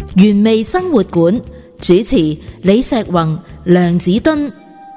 原味生活館主持李石宏、梁子敦。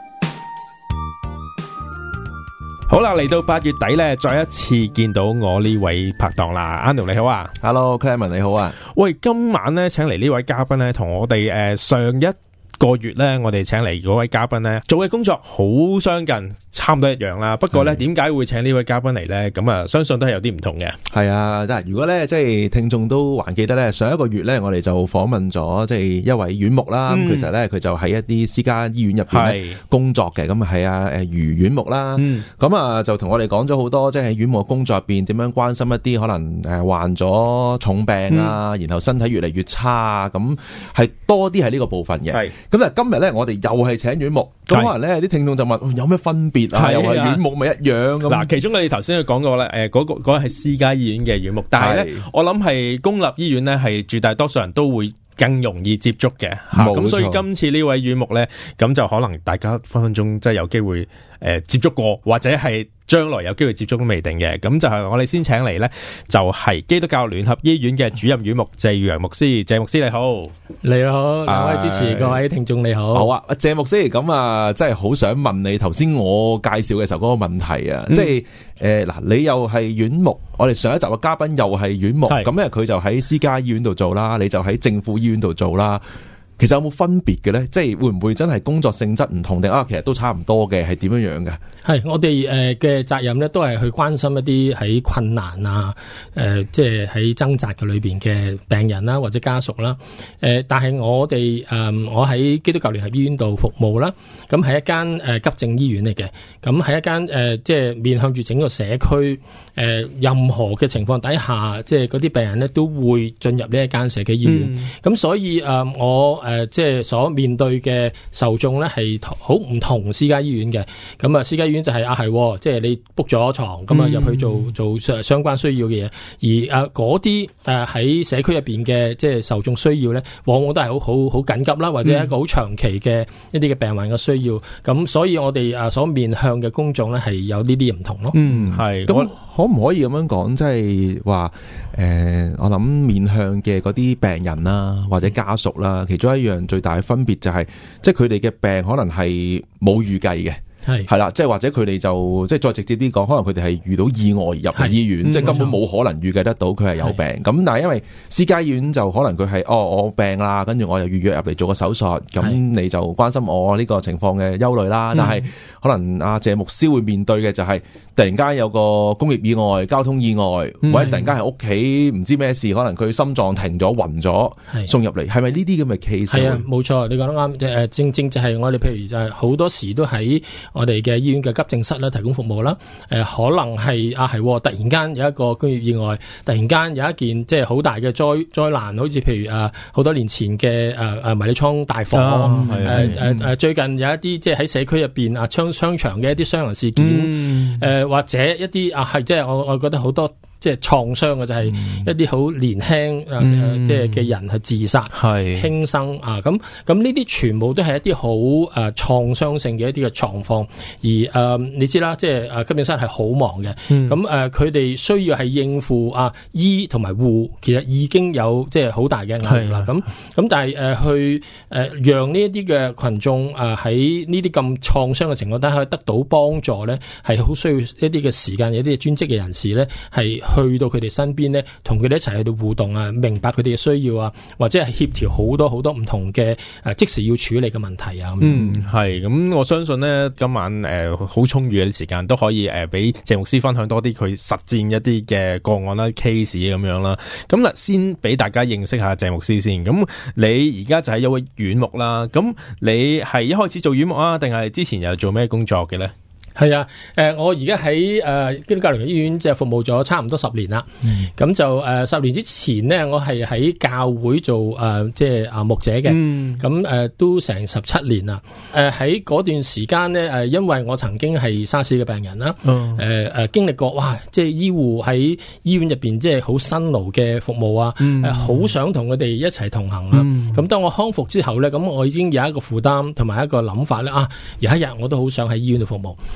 好啦，嚟到8月底咧，再一次見到我呢位拍檔啦。Anu 你好啊。 Hello Clement 你好啊。 喂，今晚咧請嚟呢位嘉賓咧，同我哋上一個月咧，我哋請嚟嗰位嘉賓咧，做嘅工作好相近，差唔多一樣啦。不過咧，點解會請呢位嘉賓嚟咧？咁啊，相信都係有啲唔同嘅。 係啊，但係如果咧，即係聽眾都還記得咧，上一個月咧，我哋就訪問咗即係一位院牧啦。其實咧，佢就喺一啲私家醫院入邊咧工作嘅。咁係啊，余院牧啦。咁啊，就同我哋講咗好多，即係喺院牧工作入邊點樣關心一啲可能患咗重病啊，然後身體越嚟越差啊，咁係多啲係呢個部分嘅。咁但係今日咧，我哋又係請院牧，咁可能咧啲聽眾就問有咩分別啊？又係院牧咪一樣咁？嗱， 其中我哋頭先都講過咧，嗰個係私家醫院嘅院牧，但係咧，我諗係公立醫院咧係絕大多數人都會更容易接觸嘅。咁所以今次呢位院牧咧，咁就可能大家分分鐘即係有機會接觸過，或者係將來有機會接觸都未定嘅。咁就係我哋先請嚟咧，就係基督教聯合醫院嘅主任院牧謝裕洋牧師。謝牧師你好。 你好，兩位主持，各位聽眾你好。 好啊，謝牧師，咁啊，真係好想問你頭先我介紹嘅時候嗰個問題啊，即係嗱，你又係院牧，我哋上一集嘅嘉賓又係院牧，咁咧佢就喺私家醫院度做啦，你就喺政府醫院度做啦。其實有冇分別嘅咧？即係會唔會真係工作性質唔同定其實都差唔多嘅？係點樣樣嘅？ 係我哋嘅責任咧，都係去關心一啲喺困難啊，即係喺掙扎嘅裏邊嘅病人啦，或者家屬啦。但係我哋我喺基督教聯合醫院度服務啦。咁係一間急症醫院嚟嘅。咁係一間即係面向住整個社區任何嘅情況底下，即係嗰啲病人咧都會進入呢一間社區醫院。咁所以我即係所面對嘅受眾咧係好唔同私家醫院嘅。咁啊，私家醫院就係係即係你 book 咗床咁啊入去做相關需要嘅嘢，而嗰啲喺社區入邊嘅即係受眾需要咧，往往都係好緊急啦，或者一個好長期嘅一啲嘅病患嘅需要。咁所以我哋所面向嘅公眾咧係有呢啲唔同咯。 係。咁可唔可以咁樣講，即係話我諗面向嘅嗰啲病人啦，或者家屬啦，其中一樣最大嘅分別就係，即係佢哋嘅病可能係冇預計嘅。係啦，即係或者佢哋就即係再直接啲講，可能佢哋係遇到意外入醫院，即係根本冇可能預計得到佢係有病。咁但係因為私家醫院就可能佢係我病啦，跟住我又預約入嚟做個手術，咁你就關心我呢個情況嘅憂慮啦。但係可能阿謝牧師會面對嘅就係突然間有個工業意外、交通意外，或者突然間喺屋企唔知咩事，可能佢心臟停咗、暈咗，送入嚟，係咪呢啲咁嘅 case？ 係啊， 冇錯，你講得啱。正就係我哋譬如就係好多時都喺我哋嘅醫院嘅急症室咧提供服務啦，可能係突然間有一個工業意外，突然間有一件即係好大嘅災難，好似譬如好多年前嘅迷你倉大火，最近有一啲即係喺社區入邊商場嘅一啲傷人事件，或者一啲即係我覺得好多。即係創傷嘅就係一啲好年輕即係嘅人係自殺輕生啊，咁呢啲全部都係一啲好創傷性嘅一啲嘅狀況，而你知啦，即係急症室係好忙嘅，咁佢哋需要係應付醫同埋護，其實已經有即係好大嘅壓力啦。咁但係去讓呢一啲嘅群眾喺呢啲咁創傷嘅情況底下得到幫助咧，係好需要一啲嘅時間，有啲專職嘅人士咧係去到佢哋身邊咧，同佢哋一齊去到互動啊，明白佢哋嘅需要啊，或者係協調好多好多唔同嘅即時要處理嘅問題啊。 係咁，我相信咧今晚好充裕嘅啲時間都可以俾謝牧師分享多啲佢實戰一啲嘅個案啦、case 咁樣啦。咁嗱，先俾大家認識下謝牧師先。咁你而家就係一位院牧啦。咁你係一開始做院牧啊，定係之前又做咩工作嘅咧？ 係啊，我而家喺基督教聯合醫院即係服務咗差唔多10年啦。咁就10年之前呢，我係喺教會做即係牧者嘅。咁都成17年啦。喺嗰段時間呢，因為我曾經係沙士嘅病人啦。經歷過哇，即係醫護喺醫院入邊即係好辛勞嘅服務啊。好想同佢哋一齊同行啊。咁當我康復之後呢，咁我已經有一個負擔同埋一個諗法咧。有一日我都好想喺醫院度服務。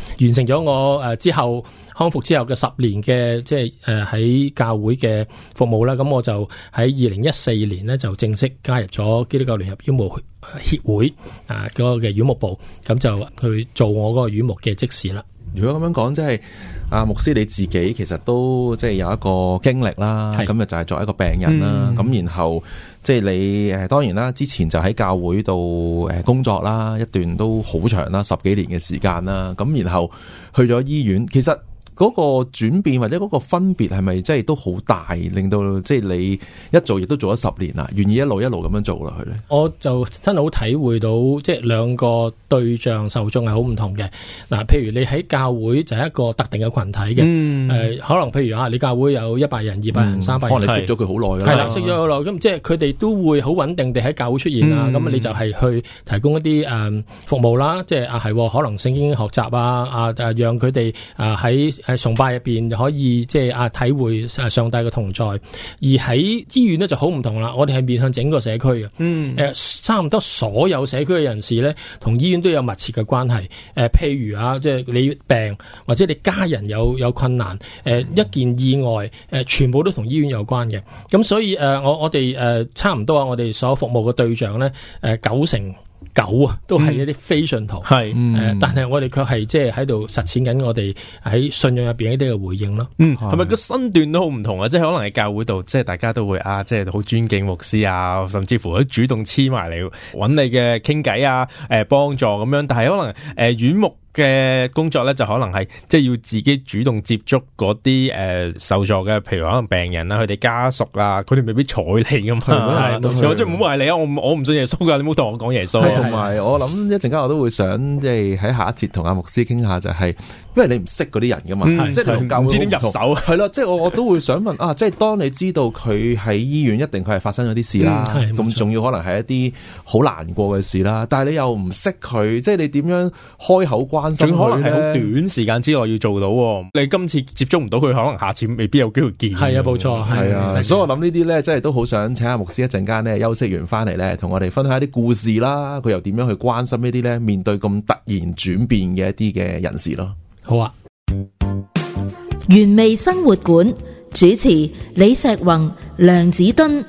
完成咗我之後康復之後嘅10年嘅即係喺教會嘅服務啦。咁我就喺2014年呢，就正式加入咗基督教聯合院牧協會嗰個嘅院牧部，咁就去做我嗰個院牧嘅職事啦。 如果咁樣講，即係牧師你自己其實都即係有一個經歷啦，咁就係作為一個病人啦，咁然後即係你當然啦，之前就喺教會度工作啦，一段都好長啦，10幾年嘅時間啦，咁然後去咗醫院，其實嗰個轉變或者嗰個分別係咪即係都好大，令到即係你一做亦都做咗10年啦，願意一路咁樣做落去咧？我就真係好體會到，即係兩個對象受眾係好唔同嘅。嗱，譬如你喺教會就係一個特定嘅群體嘅，可能譬如你教會有100人、200人、300人， 可能你識咗佢好耐啦， 係啦，識咗好耐，咁即係佢哋都會好穩定地喺教會出現啊。咁你就係去提供一啲服務啦，即係可能聖經學習讓佢哋喺崇拜入邊可以即係體會上帝嘅同在。而喺醫院咧就好唔同啦，我哋係面向整個社區嘅，差唔多所有社區嘅人士咧，同醫院都有密切嘅關係。譬如即係你病或者你家人有困難，一件意外，全部都同醫院有關嘅。咁所以我哋差唔多我哋所服務嘅對象咧，99%都係一啲非信徒，但係我哋卻係即係喺度實踐緊我哋喺信仰入邊一啲嘅回應咯。 係咪個身段都好唔同啊？即係可能喺教會度，即係大家都會即係好尊敬牧師啊，甚至乎都主動黐埋嚟揾你嘅傾偈啊，幫助咁樣。但係可能院牧嘅工作咧，就可能係即係要自己主動接觸嗰啲受助嘅，譬如可能病人啊，佢哋家屬啊，佢哋未必睬你噶嘛，或者唔好埋你啊，我唔信耶穌噶，你唔好同我講耶穌。 同埋我諗一陣間我都會想即係喺下一節同阿牧師傾下，就係因為你唔識嗰啲人噶嘛，即係你唔知點入手，係咯，即係我都會想問即係當你知道佢喺醫院，一定佢係發生咗啲事啦，咁仲要可能係一啲好難過嘅事啦，但係你又唔識佢，即係你點樣開口關心佢咧？ 可能係好短時間之內要做到，你今次接觸唔到佢，可能下次未必有機會見。 係啊，冇錯，係啊， 所以我諗呢啲咧，即係都好想請阿牧師一陣間咧休息完翻嚟咧，同我哋分享一啲故事啦，佢又點樣去關心呢啲咧面對咁突然轉變嘅一啲嘅人士咯。 好啊， 原味生活館主持李碩宏、梁梓敦。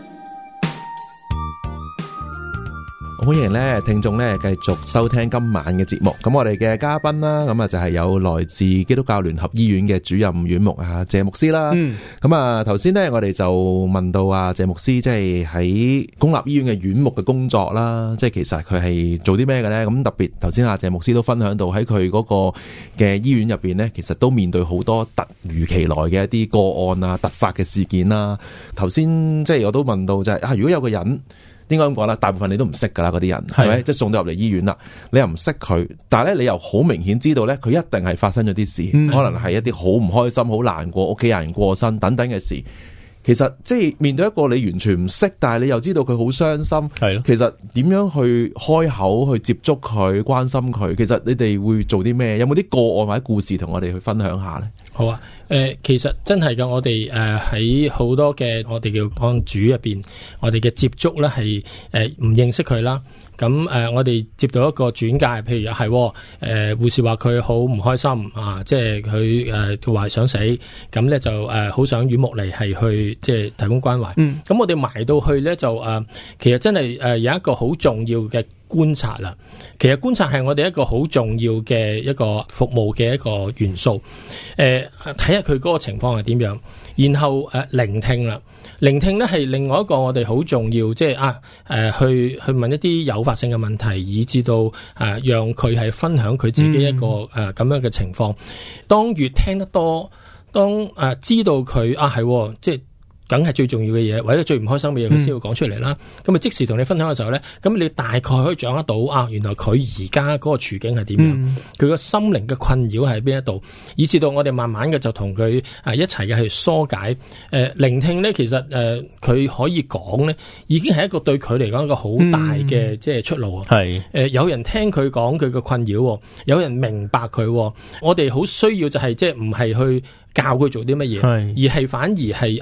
歡迎咧聽眾咧繼續收聽今晚嘅節目。咁我哋嘅嘉賓啦，咁就係有來自基督教聯合醫院嘅主任院牧謝牧師啦。咁頭先咧我哋就問到謝牧師，即係喺公立醫院嘅院牧嘅工作啦，即係其實佢係做啲咩嘅咧？咁特別頭先謝牧師都分享到喺佢嗰個嘅醫院入邊咧，其實都面對好多突如其來嘅一啲個案啊、突發嘅事件啦。頭先即係我都問到就係如果有個人。應該咁講啦，大部分你都唔識噶啦，嗰啲人係咪？即係送到入嚟醫院啦，你又唔識佢，但係咧你又好明顯知道咧，佢一定係發生咗啲事，可能係一啲好唔開心、好難過、屋企人過身等等嘅事。其實即係面對一個你完全唔識，但係你又知道佢好傷心，係咯。其實點樣去開口去接觸佢、關心佢？其實你哋會做啲咩？有冇啲個案或者故事同我哋去分享下咧？ 好啊，其實真係嘅，我哋喺好多嘅我哋叫案主入邊，我哋嘅接觸咧係唔認識佢啦。咁我哋接到一個轉介，譬如係護士話佢好唔開心啊，即係佢話想死，咁咧就好想院牧嚟係去即係提供關懷。咁我哋埋到去咧就其實真係有一個好重要嘅觀察啦。其實觀察係我哋一個好重要嘅一個服務嘅一個元素。睇下佢嗰個情況係點樣，然後聆聽啦。聆聽咧係另外一個我哋好重要，即係去問一啲誘發性嘅問題，以至到讓佢係分享佢自己一個咁樣嘅情況。當越聽得多，當知道佢係即係。梗係最重要嘅嘢，或者最唔開心嘅嘢，佢先會講出嚟啦。咁啊，即時同你分享嘅時候咧，咁你大概可以掌握到原來佢而家嗰個處境係點樣，佢個心靈嘅困擾喺邊一度，以至到我哋慢慢嘅就同佢一齊嘅去疏解。聆聽咧，其實佢可以講咧，已經係一個對佢嚟講一個好大嘅即係出路啊。係有人聽佢講佢嘅困擾，有人明白佢。我哋好需要就係即係唔係去教佢做啲乜嘢，而係反而係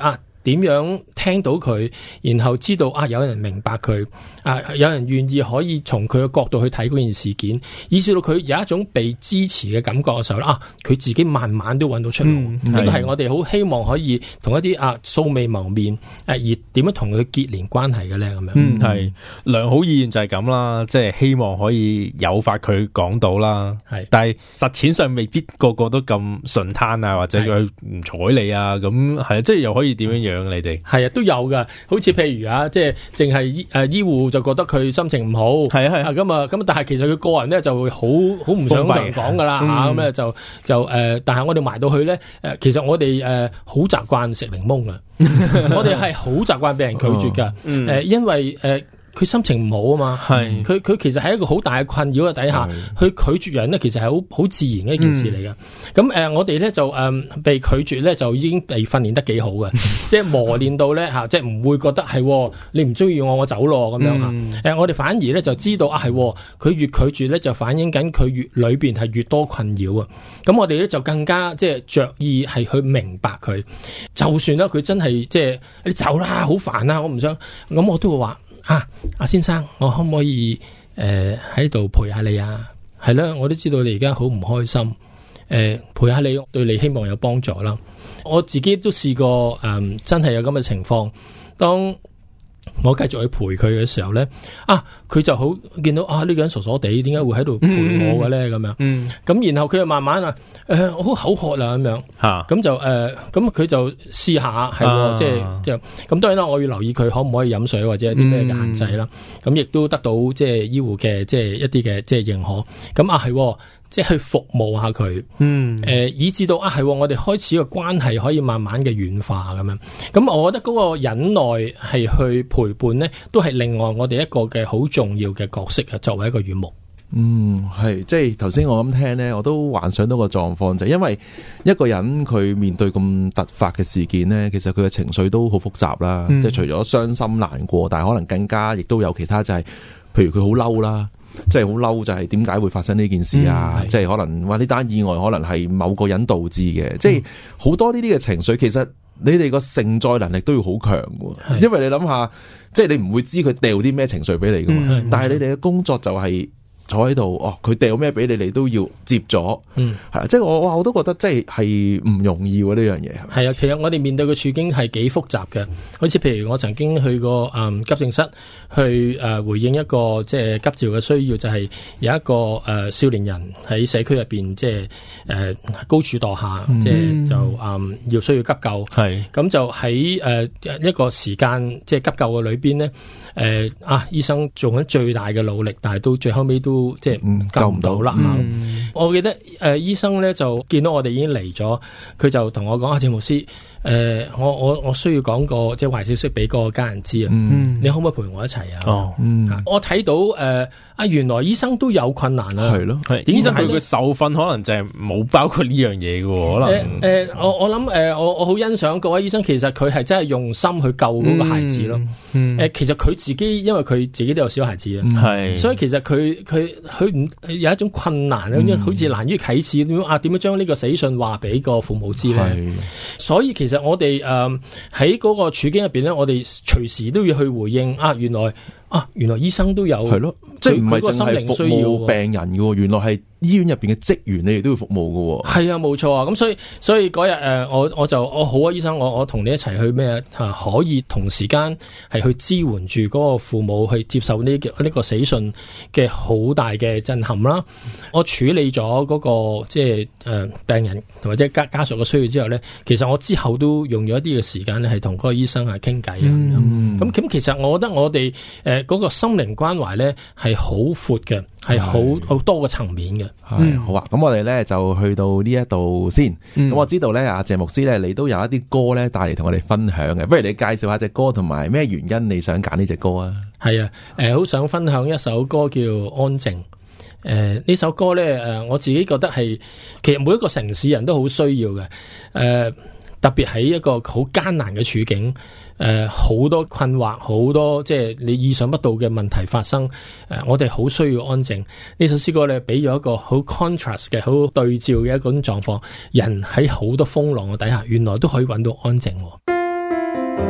點樣聽到佢，然後知道有人明白佢，有人願意可以從佢嘅角度去睇嗰件事件，以至到佢有一種被支持嘅感覺嘅時候佢自己慢慢都揾到出路。呢個係我哋好希望可以同一啲素未謀面而點樣同佢結連關係嘅咧咁樣。 係良好意願就係咁啦，即係希望可以誘發佢講到啦。係，但係實踐上未必個個都咁順攤啊，或者佢唔睬你啊，咁係即係又可以點樣樣你哋？係都有噶，好似譬如即係淨係醫護就覺得佢心情唔好，係咁，但係其實佢個人咧就會好唔想同人講噶啦咁咧就但係我哋埋到去咧其實我哋好習慣食檸檬噶，我哋係好習慣俾人拒絕噶，因為佢心情唔好啊嘛，佢其實係一個好大嘅困擾嘅底下，去拒絕人咧，其實係好自然嘅一件事嚟嘅。咁我哋咧就被拒絕咧，就已經被訓練得幾好嘅，即係磨練到咧即係唔會覺得係你唔中意我走咯咁樣我哋反而咧就知道係佢越拒絕咧，就反映緊佢越裏邊係越多困擾啊。咁我哋咧就更加即係着意係去明白佢，就算啦佢真係即係你走啦，好煩啊，我唔想，咁我都會話。阿先生，我可唔可以喺度陪下你啊？係啦，我都知道你而家好唔開心，陪下你，對你希望有幫助啦。我自己都試過真係有咁嘅情況，當我繼續去陪佢嘅時候咧，佢就好見到呢個人傻傻地，點解會喺度陪我嘅咧？咁樣，咁然後佢就慢慢我好口渴啦咁樣，咁就咁佢就試下係，即係咁當然啦，我要留意佢可唔可以飲水或者有啲咩嘅限制啦。咁亦都得到即係醫護嘅即係一啲嘅即係認可。咁係。即係去服務下佢，以至到係我哋開始個關係可以慢慢嘅軟化咁樣。咁我覺得嗰個忍耐係去陪伴呢，都係另外我哋一個嘅好重要嘅角色啊。作為一個院牧， 係即係頭先我咁聽呢，我都幻想到個狀況就係因為一個人佢面對咁突發嘅事件呢，其實佢嘅情緒都好複雜啦。即係除咗傷心難過，但係可能更加亦都有其他就係，譬如佢好嬲啦。即係好嬲，就係點解會發生呢件事啊？即係可能話呢單意外可能係某個人導致嘅，即係好多呢啲嘅情緒。其實你哋個承載能力都要好強嘅，因為你諗下，即係你唔會知佢掉啲咩情緒俾你噶嘛。但係你哋嘅工作就係坐喺度，佢掉咩俾你，你都要接咗。係即係我都覺得即係唔容易呢樣嘢。 係啊，其實我哋面對嘅處境係幾複雜嘅。好似譬如我曾經去過急症室去回應一個即係急召嘅需要，就係有一個少年人喺社區入邊即係高處墮下，即係就要需要急救。係咁就喺一個時間即係急救嘅裏邊呢，醫生做緊最大嘅努力，但係到最後尾都即係救唔到啦。我記得醫生咧就見到我哋已經嚟咗，佢就同我講：鄭牧師，我需要講個即係壞消息俾個家人知啊。你可唔可以陪我一齊啊？我睇到原來醫生都有困難啊。係咯， 醫生佢嘅受訓可能就係冇包括呢樣嘢嘅。可能我諗我好欣賞各位醫生，其實佢係真係用心去救嗰個孩子咯。其實佢自己因為佢自己都有小孩子啊，所以其實佢唔有一種困難好似難於啟齒點樣將呢個死訊話俾個父母知咧。所以其實我哋喺嗰個處境入邊咧，我哋隨時都要去回應原來醫生都有係咯，即係唔係淨係服務病人嘅，原來係醫院入邊嘅職員，你哋都要服務嘅。係啊，冇錯啊。咁所以嗰日我好啊，醫生，我同你一齊去咩可以同時間係去支援住嗰個父母去接受呢個死訊嘅好大嘅震撼啦。我處理咗嗰個即係病人或者家屬嘅需要之後咧，其實我之後都用咗一啲嘅時間咧，係同嗰個醫生係傾偈啊。咁其實我覺得我哋嗰個心靈關懷咧係好闊嘅，係好多個層面嘅。 好啊，咁我哋咧就去到呢一度先。咁我知道咧，阿謝牧師咧，你都有一啲歌咧帶嚟同我哋分享嘅。不如你介紹下隻歌，同埋咩原因你想揀呢隻歌啊？係啊， 好想分享一首歌叫《安靜》。呢首歌咧，我自己覺得係其實每一個城市人都好需要嘅。特別喺一個好艱難嘅處境。好多困惑，好多即係你意想不到嘅問題發生。我哋好需要安靜。呢首詩歌咧，俾咗一個好 contrast 嘅、好對照嘅一種狀況。人喺好多風浪嘅底下，原來都可以揾到安靜。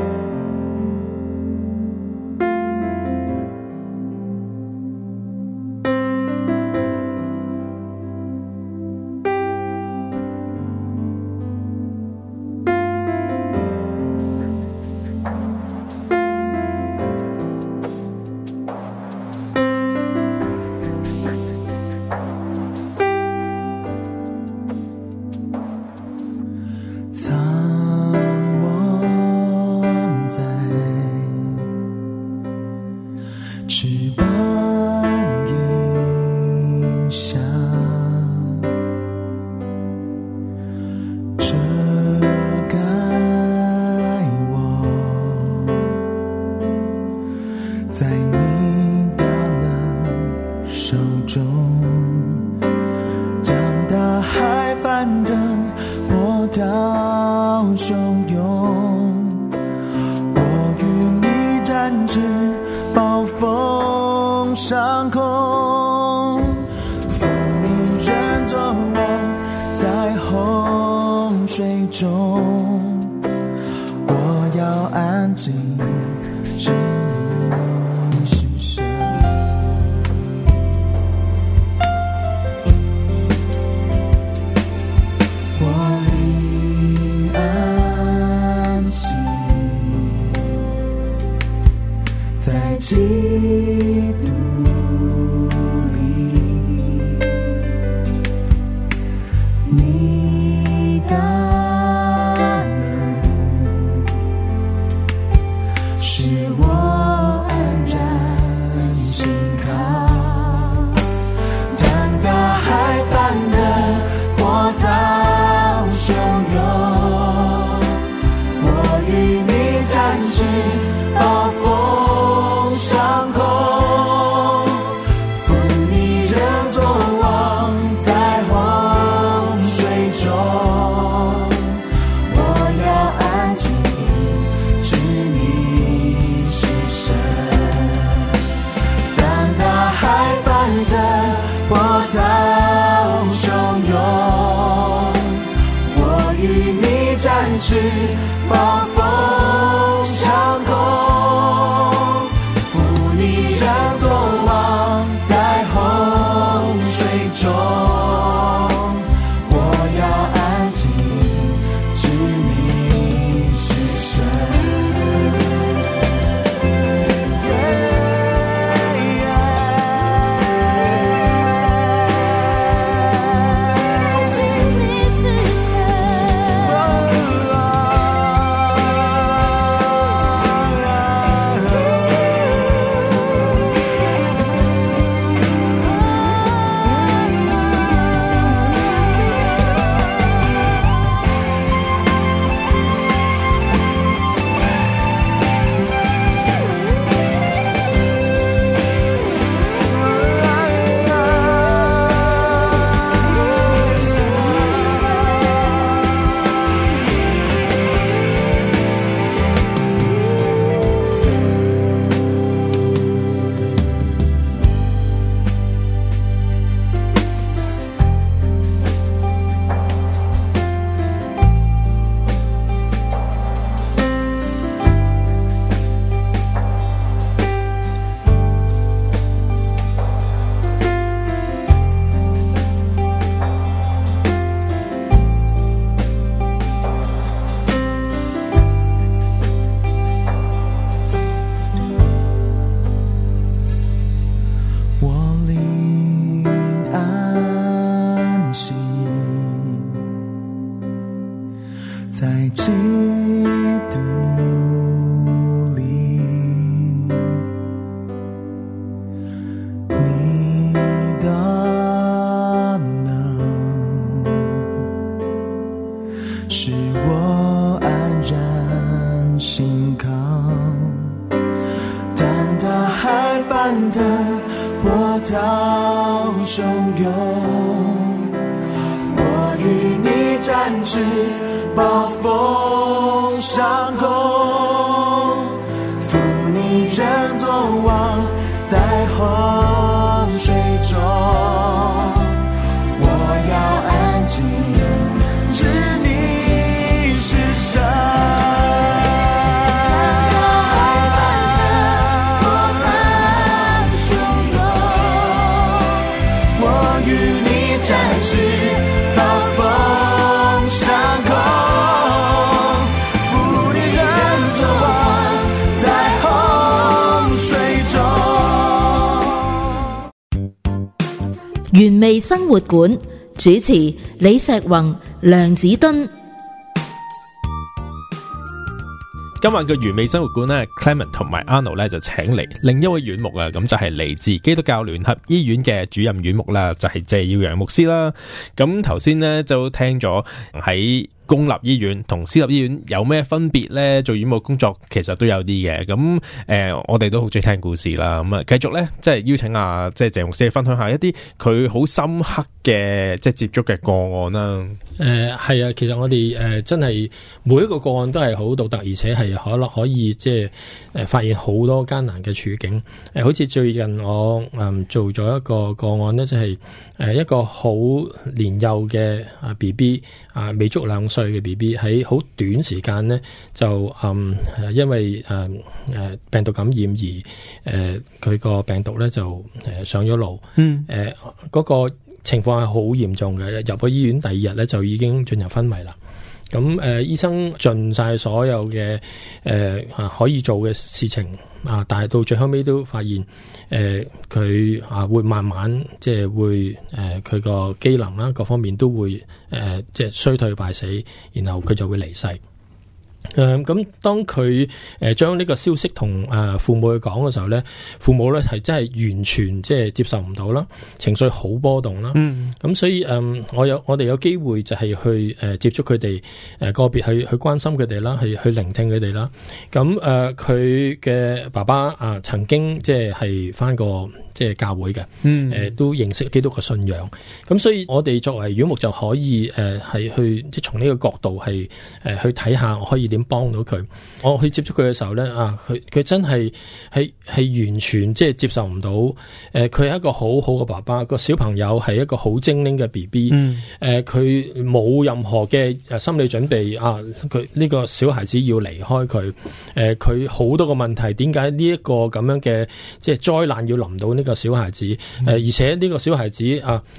翅膀影響遮蓋我，在你大能手中，将大海翻騰，波濤洶湧，我與你展翅，暴風上空，負你人作王，在洪水中，我要安靜，知你是神。我靈安息在基督裡，你大能使我安然心靠。當大海翻騰，波濤洶湧，我與你展翅，暴風上空，負你人作王，在洪水中，我要安靜，知你是神。當大海翻騰，波濤洶湧，我與你展翅，暴風上空，負你人作王，在洪水中，我要安靜，知你是神。在基督裡，你大能使我安然心靠。當大海翻騰，波濤洶湧，我與你展翅，暴風上空，負你人作王，在洪水中，我要安靜，知你是神。我與你展翅，暴風上空。 原味生活館主持李石宏、梁子敦。 今晚嘅原味生活館咧 ，Clement 同埋 Arnold 咧就請嚟另一位院牧啊，咁就係嚟自基督教聯合醫院嘅主任院牧啦，就係謝耀陽牧師啦。咁頭先咧就聽咗喺公立醫院同私立醫院有咩分別咧？做院牧工作其實都有啲嘅。咁我哋都好中意聽故事啦。咁啊，繼續咧，即係邀請即係謝牧師分享下一啲佢好深刻嘅即係接觸嘅個案啦。 係啊，其實我哋真係每一個個案都係好獨特，而且係可以即係發現好多艱難嘅處境。好似最近我做咗一個個案呢，就係一個好年幼嘅BB 未足2歲嘅 BB 喺好短時間呢，就因為病毒感染而佢個病毒咧就上咗腦。嗰個情況係好嚴重嘅，入咗醫院第2日咧就已經進入昏迷啦。咁醫生盡晒所有嘅可以做嘅事情但係到最後尾都發現佢會慢慢即係會佢個機能啦各方面都會即係衰退敗死，然後佢就會離世。咁當佢將呢個消息同父母去講嘅時候咧，父母咧係真係完全即係接受唔到啦，情緒好波動啦。咁所以我哋有機會就係去接觸佢哋，個別去關心佢哋啦，去聆聽佢哋啦。咁佢嘅爸爸曾經即係返過即係教會嘅，都認識基督嘅信仰。咁所以我哋作為院牧就可以係去即係從呢個角度係去睇下我可以點幫到佢。我去接觸佢嘅時候咧，佢真係完全即係接受唔到。佢係一個好好嘅爸爸，個小朋友係一個好精靈嘅 BB。佢冇任何嘅心理準備佢呢個小孩子要離開佢。佢好多個問題，點解呢一個咁樣嘅即係災難要臨到呢個小孩子？而且呢個小孩子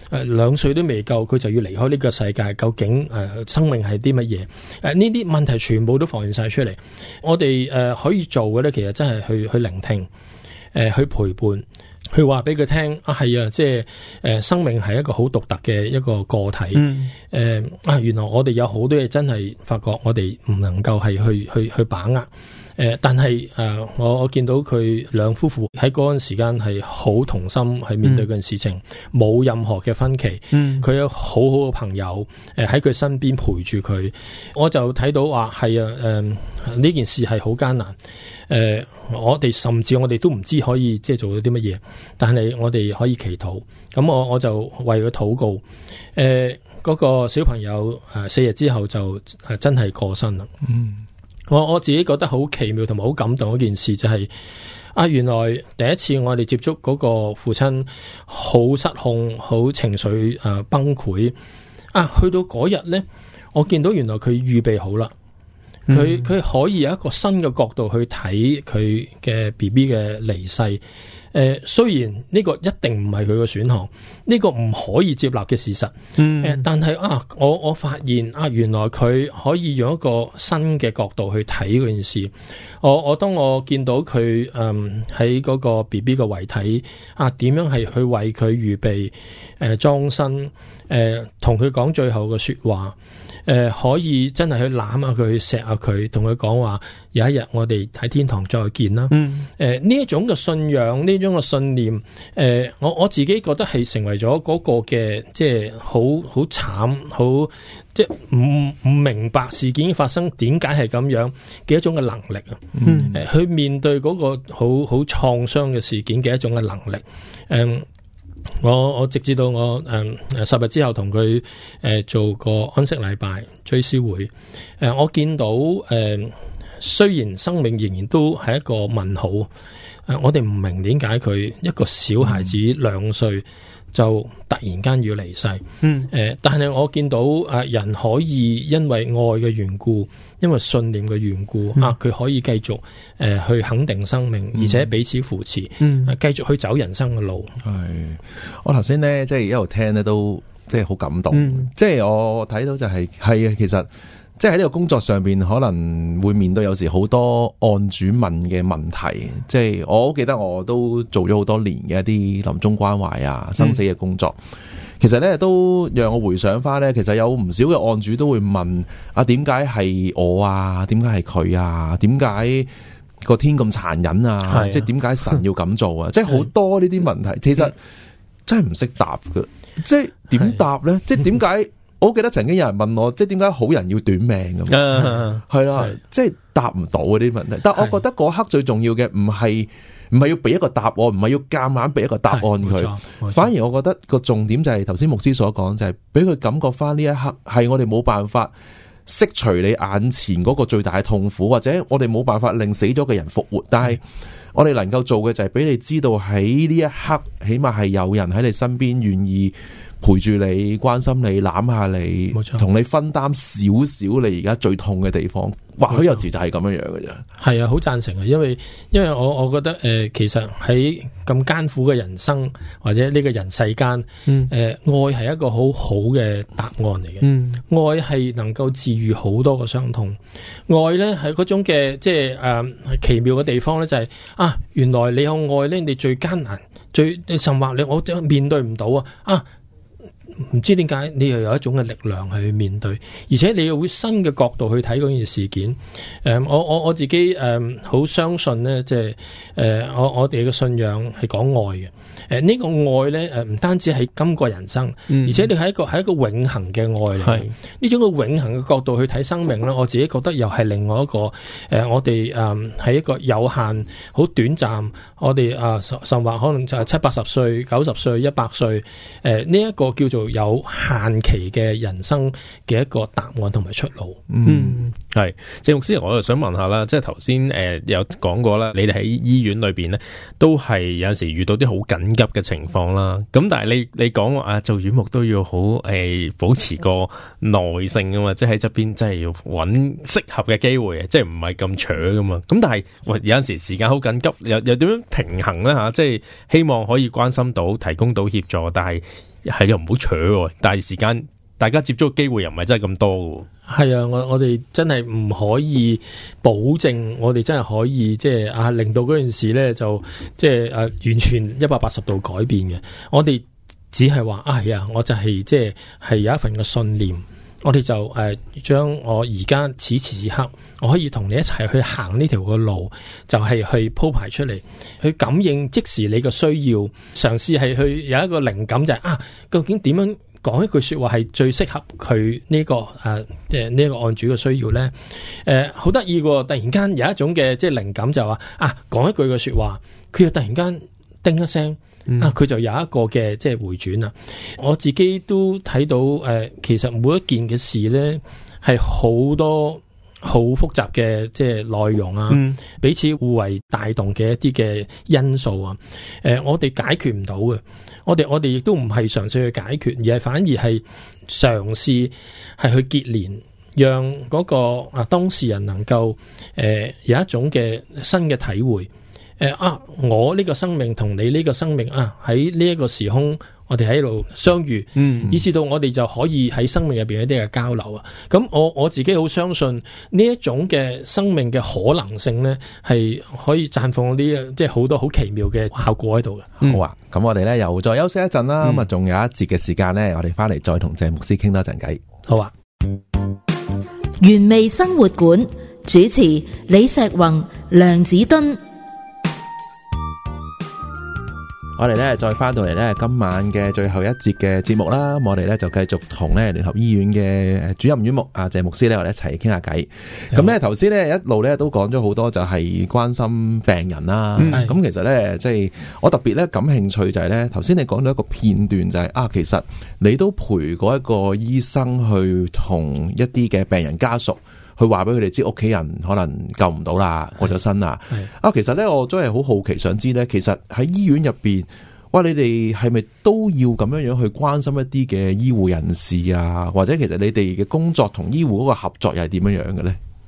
2歲都未夠，佢就要離開呢個世界。究竟生命係啲乜嘢？呢啲問題全部都浮現晒出嚟。我哋可以做嘅咧，其實真係去聆聽，去陪伴，去話俾佢聽係啊，即係生命係一個好獨特嘅一個個體。原來我哋有好多嘢真係發覺我哋唔能夠係去把握。但係我見到佢兩夫婦喺嗰陣時間係好同心，係面對嗰件事情，冇任何嘅分歧。佢有好好嘅朋友喺佢身邊陪住佢。我就睇到話係呢件事係好艱難。我哋甚至我哋都唔知可以即係做到啲乜嘢，但係我哋可以祈禱。咁我就為佢禱告。嗰個小朋友4日之後就真係過身啦。我自己覺得好奇妙同埋好感動一件事就係原來第一次我哋接觸嗰個父親好失控，好情緒崩潰。去到嗰日呢，我見到原來佢預備好啦，佢可以有一個新嘅角度去睇佢嘅 BB 嘅離世。雖然呢個一定唔係佢嘅選項，呢個唔可以接納嘅事實。但係我發現原來佢可以用一個新嘅角度去睇嗰件事。當我見到佢喺嗰個 BB 嘅遺體點樣係去為佢預備裝身，同佢講最後嘅說話。可以真係去攬下佢，去錫下佢，同佢講話有一日我哋喺天堂再見啦。呢一種嘅信仰，呢種嘅信念，我自己覺得係成為咗嗰個嘅即係好慘，好即係唔明白事件發生點解係咁樣嘅一種嘅能力啊。去面對嗰個好創傷嘅事件嘅一種嘅能力。我直至到我10日之後同佢做個安息禮拜追思會。我見到雖然生命仍然都係一個問號，我哋唔明點解佢一個小孩子2歲就突然間要離世。但係我見到人可以因為愛嘅緣故，因為信念嘅緣故，佢可以繼續去肯定生命，而且彼此扶持，繼續去走人生嘅路。 我頭先咧，即係一路聽咧，都即係好感動。即係我睇到就係啊，其實即係喺呢個工作上邊可能會面對有時好多案主問嘅問題，即係我好記得我都做咗好多年嘅一啲臨終關懷啊、生死嘅工作。其實咧都讓我回想翻咧，其實有唔少嘅案主都會問啊，點解係我啊？點解係佢啊？點解個天咁殘忍啊？即係點解神要咁做啊？即係好多呢啲問題，其實真係唔識答㗎。即係點答咧？即係點解？我記得曾經有人問我，即係點解好人要短命咁？係啦，即係答唔到嗰啲問題。但係我覺得嗰刻最重要嘅唔係要俾一個答案，唔係要夾硬俾一個答案佢，反而我覺得個重點就係頭先牧師所講，就係俾佢感覺翻呢一刻係我哋冇辦法釋除你眼前嗰個最大嘅痛苦，或者我哋冇辦法令死咗嘅人復活，但係我哋能夠做嘅就係俾你知道喺呢一刻，起碼係有人喺你身邊願意陪住你、關心你、攬下你，同你分擔少少你而家最痛嘅地方。或許有時就係咁樣樣嘅啫。係啊，好贊成啊，因為我覺得其實喺咁艱苦嘅人生或者呢個人世間，愛係一個好好嘅答案嚟嘅。愛係能夠治愈好多個傷痛。愛咧係嗰種嘅即係奇妙嘅地方咧，就係原來你有愛咧，你最艱難、甚或我面對唔到啊！唔知點解你又有一種嘅力量去面對，而且你又會新嘅角度去睇嗰件事件。我自己好相信呢，即係我哋嘅信仰係講愛嘅。呢個愛咧唔單止係今個人生，而且你係一個永恆嘅愛嚟。呢種嘅永恆嘅角度去睇生命咧，我自己覺得又係另外一個我哋係一個有限、好短暫。我哋甚或可能就係70-80歲、90歲、100歲。呢一個叫做有限期嘅人生嘅一個答案同埋出路。 係謝牧師，我就想問下啦，即係頭先有講過啦，你哋喺醫院裏邊咧，都係有陣時遇到啲好緊急嘅情況啦。咁但係你講做院牧都要好保持個耐性噶嘛，即係喺側邊真係要揾適合嘅機會，即係唔係咁扯噶嘛。咁但係有陣時時間好緊急，又點樣平衡咧吓？即係希望可以關心到、提供到協助，但係又唔好扯，但係時間大家接觸嘅機會又唔係真係咁多嘅。 係啊，我哋真係唔可以保證，我哋真係可以即係令到嗰件事咧就即係完全180度改變嘅。我哋只係話我就係即係有一份嘅信念，我哋就將我而家此時此刻，我可以同你一齊去行呢條嘅路，就係去鋪排出嚟，去感應即時你嘅需要，嘗試係去有一個靈感，就係究竟點樣講一句說話係最適合佢呢個呢個案主嘅需要咧？好得意喎！突然間有一種嘅即係靈感，就話講一句嘅說話，佢又突然間叮一聲，佢就有一個嘅即係回轉啦。我自己都睇到其實每一件嘅事咧係好多好複雜嘅即係內容彼此互為帶動嘅一啲嘅因素我哋解決唔到嘅。我哋亦都唔係嘗試去解決，而係反而係嘗試係去結連，讓嗰個當事人能夠有一種嘅新嘅體會。我呢個生命同你呢個生命喺呢一個時空，我哋喺度相遇，以至到我哋就可以喺生命入邊一啲嘅交流咁我自己好相信呢一種嘅生命嘅可能性咧，係可以綻放啲即係好多好奇妙嘅效果喺度嘅。 好啊，咁我哋咧又再休息一陣啦。咁仲有一節嘅時間咧，我哋翻嚟再同謝牧師傾多陣偈。 好啊。 原味生活館主持李石宏、梁子敦。 我哋咧再翻到嚟咧今晚嘅最後一節嘅節目啦，我哋咧就繼續同咧聯合醫院嘅主任院牧謝牧師咧，我哋一齊傾下偈。咁咧頭先咧一路咧都講咗好多，就係關心病人啦。咁其實咧即係我特別咧感興趣就係咧頭先你講到一個片段，就係其實你都陪過一個醫生去同一啲嘅病人家屬去話俾佢哋知屋企人可能救唔到啦，過咗身啦。其實咧我真係好好奇想知咧，其實喺醫院入邊，你哋係咪都要咁樣樣去關心一啲嘅醫護人士啊？或者其實你哋嘅工作同醫護嗰個合作又係點樣樣嘅咧？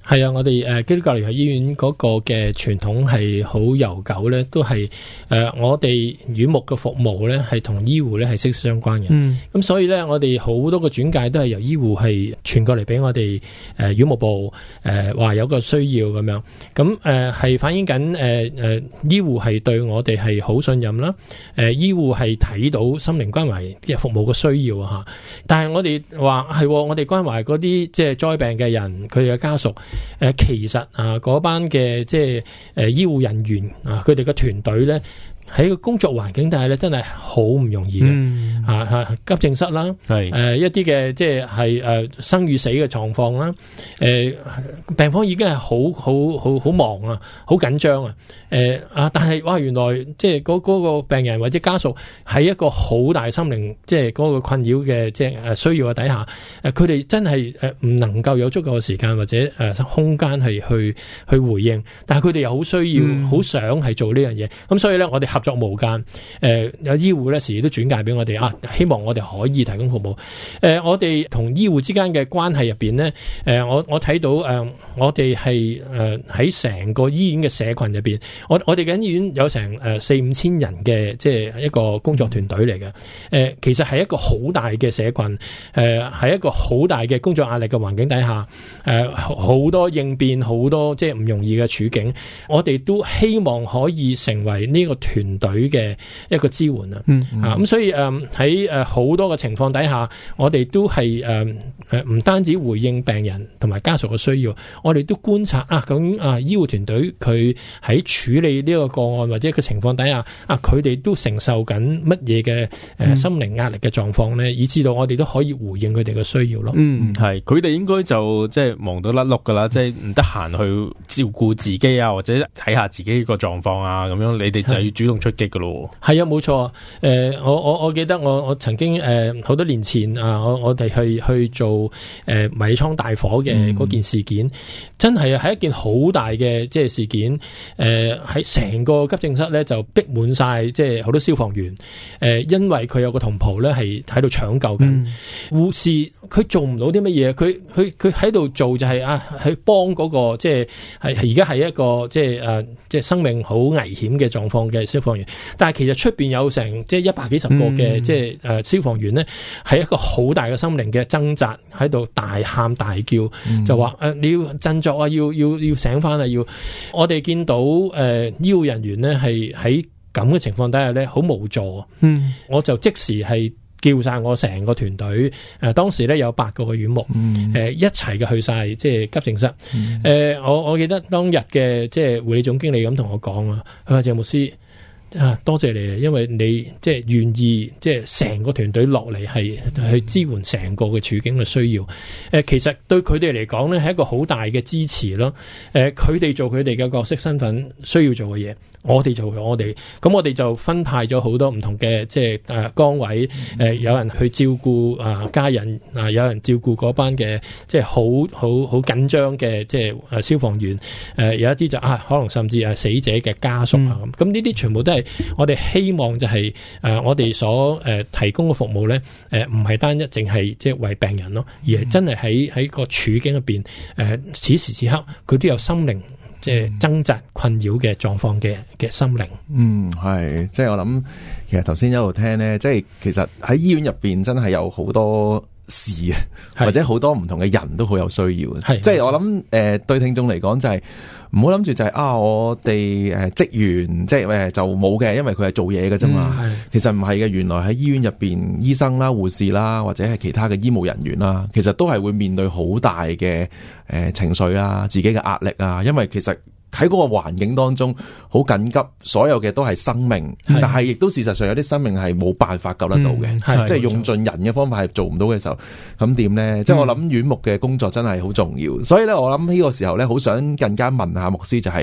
係啊，我哋基督教聯合醫院嗰個嘅傳統係好悠久咧，都係我哋院牧嘅服務咧係同醫護咧係息息相關嘅。咁所以咧，我哋好多個轉介都係由醫護係傳過嚟俾我哋院牧部話有個需要咁樣。咁係反映緊醫護係對我哋係好信任啦。醫護係睇到心靈關懷嘅服務嘅需要嚇。但係我哋話係我哋關懷嗰啲即係災病嘅人，佢哋嘅家屬。其實嗰班嘅即係醫護人員佢哋嘅團隊咧。喺個工作環境底下咧，真係好唔容易嘅。急症室啦，一啲嘅即係生與死嘅狀況啦，病房已經係好忙啊，好緊張啊。但係哇，原來即係嗰個病人或者家屬喺一個好大心靈即係嗰個困擾嘅即係需要嘅底下，佢哋真係唔能夠有足夠嘅時間或者空間係去回應，但係佢哋又好需要、好想係做呢樣嘢。咁所以咧，我哋合作無間，有醫護咧時時都轉介俾我哋希望我哋可以提供服務。我哋同醫護之間嘅關係入邊咧，我睇到我哋係喺成個醫院嘅社群入邊，我哋嘅醫院有成4-5千人嘅即係一個工作團隊嚟嘅。其實係一個好大嘅社群，係一個好大嘅工作壓力嘅環境底下，好多應變，好多即係唔容易嘅處境，我哋都希望可以成為呢個團隊嘅一個支援咁所以喺好多嘅情況底下，我哋都係唔單止回應病人同埋家屬嘅需要，我哋都觀察究竟醫護團隊佢喺處理呢個個案或者個情況底下佢哋都承受緊乜嘢嘅心靈壓力嘅狀況咧，以至到我哋都可以回應佢哋嘅需要咯。 係佢哋應該就即係忙到甩碌噶啦，即係唔得閒去照顧自己或者睇下自己個狀況咁樣，你哋就要主動出擊噶咯。 係啊，冇錯。我記得我曾經好多年前我哋去做迷你倉大火嘅嗰件事件，真係一件好大嘅即係事件。喺成個急症室咧就逼滿晒，即係好多消防員。因為佢有個同袍咧係喺度搶救緊，護士佢做唔到啲乜嘢，佢喺度做就係去幫嗰個即係而家係一個即係生命好危險嘅狀況嘅消防員，但係其實出邊有成即係100幾十個嘅即係消防員呢，係一個好大嘅心靈嘅掙扎，喺度大喊大叫，就話你要振作要醒翻要。我哋見到醫護人員呢係喺咁嘅情況底下呢，好無助。我就即時係叫晒我成個團隊，當時咧有8個嘅院牧，一齊嘅去晒即係急症室。我記得當日嘅即係護理總經理咁同我講佢話鄭牧師多謝你啊，因為你即係願意即係成個團隊落嚟係去支援成個嘅處境嘅需要。其實對佢哋嚟講咧係一個好大嘅支持咯。佢哋做佢哋嘅角色身份需要做嘅嘢，我哋做我哋，咁我哋就分派咗好多唔同嘅即係崗位，有人去照顧家人，有人照顧嗰班嘅即係好緊張嘅即係消防員，有一啲就可能甚至死者嘅家屬咁呢啲全部都係我哋希望就係我哋所提供嘅服務咧，唔係單一淨係即係為病人咯，而係真係喺個處境入邊，此時此刻佢都有心靈即係掙扎困擾嘅狀況嘅心靈。 係，即係我諗，其實頭先一路聽咧，即係其實喺醫院入邊真係有好多事或者好多唔同嘅人都好有需要。即係我諗對聽眾嚟講就係唔好諗住就係我哋職員即係就冇嘅，因為佢係做嘢嘅啫嘛。其實唔係嘅，原來喺醫院入邊，醫生啦、護士啦，或者係其他嘅醫務人員啦，其實都係會面對好大嘅情緒啊、自己嘅壓力啊，因為其實喺嗰個環境當中好緊急，所有嘅都係生命，但係亦都事實上有啲生命係冇辦法救得到嘅，即係用盡人嘅方法係做唔到嘅時候，咁點呢？即係我諗院牧嘅工作真係好重要，所以咧我諗呢個時候咧，好想更加問下牧師就係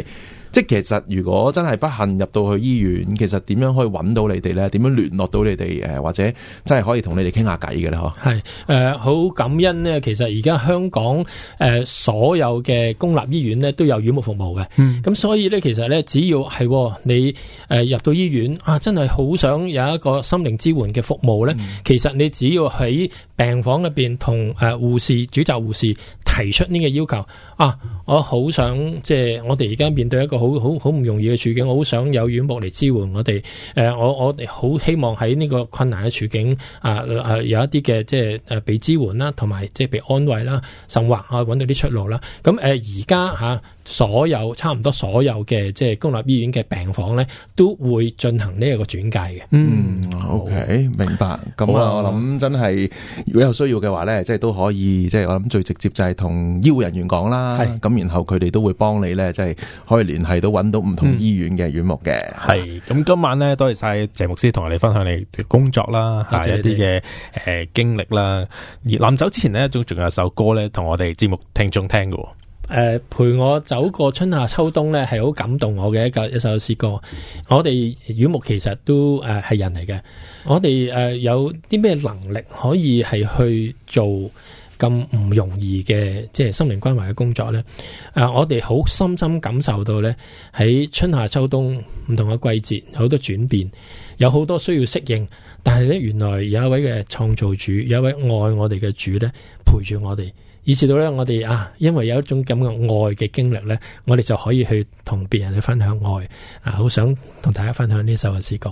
即係其實如果真係不幸入到去醫院，其實點樣可以揾到你哋咧？點樣聯絡到你哋？或者真係可以同你哋傾下偈嘅咧？嗬， 係好感恩呢。其實而家香港所有嘅公立醫院咧都有院牧服務嘅。咁所以咧，其實咧只要係你入到醫院啊，真係好想有一個心靈支援嘅服務咧，其實你只要喺病房入邊同護士、主責護士提出呢個要求啊，我好想即係我哋而家面對一個好唔容易嘅處境，我好想有院牧嚟支援我哋。我哋好希望喺呢個困難嘅處境有一啲嘅即係被支援啦，同埋即係被安慰啦，甚或揾到啲出路啦。咁而家差唔多所有嘅即係公立醫院嘅病房咧，都會進行呢一個轉介嘅。 OK， 明白。咁我諗真係如果有需要嘅話咧，即係都可以，即係我諗最直接就係同醫護人員講啦。咁然後佢哋都會幫你咧，即係可以聯繫到揾到唔同醫院嘅院牧嘅。係。咁今晚咧，多謝晒謝牧師同我哋分享你嘅工作啦，一啲嘅經歷啦。而臨走之前咧，仲有首歌咧，同我哋節目聽眾聽嘅。 陪我走過春夏秋冬咧，係好感動我嘅一首詩歌。我哋院牧其實都係人嚟嘅，我哋有啲咩能力可以係去做咁唔容易嘅即係心靈關懷嘅工作咧？我哋好深深感受到咧，喺春夏秋冬唔同嘅季節，好多轉變，有好多需要適應，但係咧原來有一位嘅創造主，有一位愛我哋嘅主咧，陪住我哋。以至到咧，我哋因為有一種咁嘅愛嘅經歷咧，我哋就可以去同別人去分享愛。好想同大家分享呢首嘅詩歌。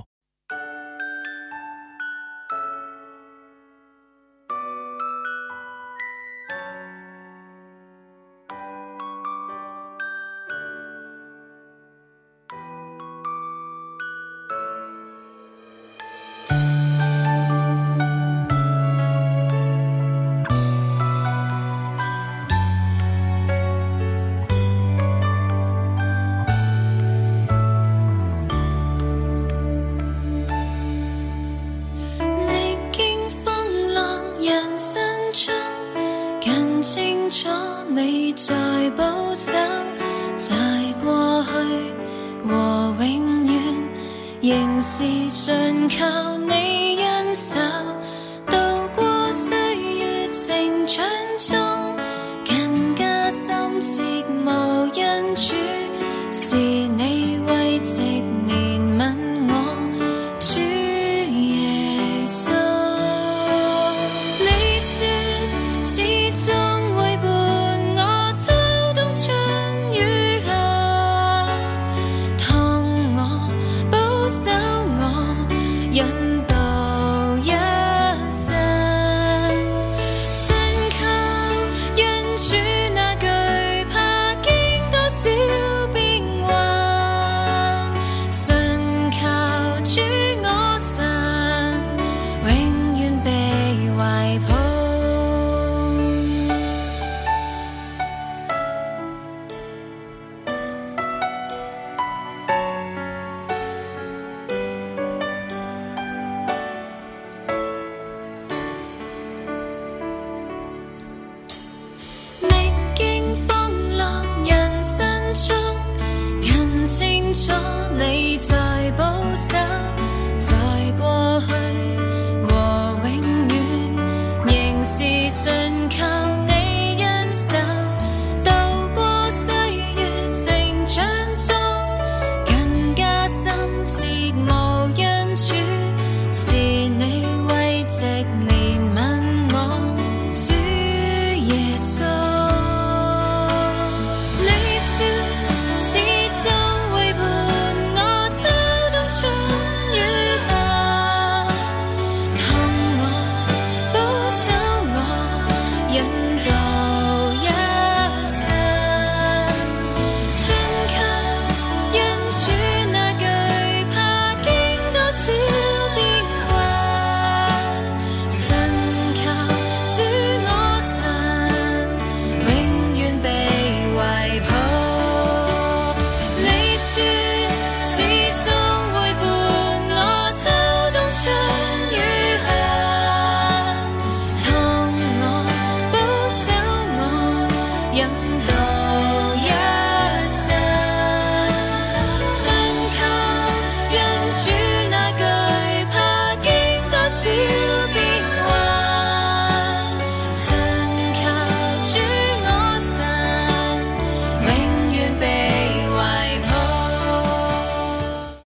仍是信靠你恩手。